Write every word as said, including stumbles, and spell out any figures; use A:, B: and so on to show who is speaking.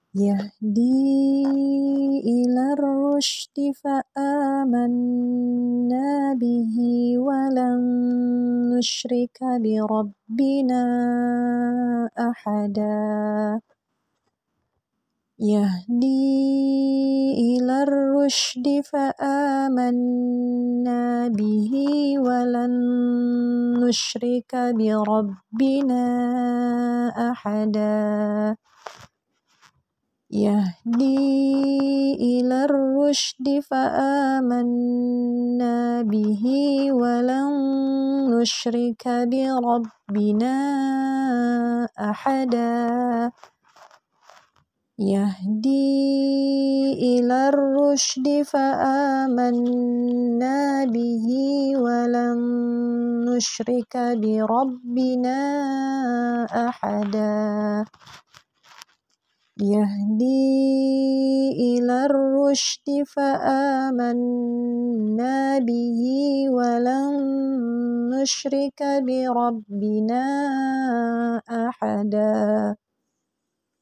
A: يهدي إلى الرشد فآمنا به ولن نشرك بربنا أحدا يهدي إلى الرشد فآمنا به ولن نشرك بربنا أحدا يهدي إلى الرشد فآمنا به ولن نشرك بربنا أحدا يهدي إلى الرشد فآمنا به ولن نشرك بربنا أحدا يهدي إلى الرشد فآمنا به ولن نشرك بربنا أحدا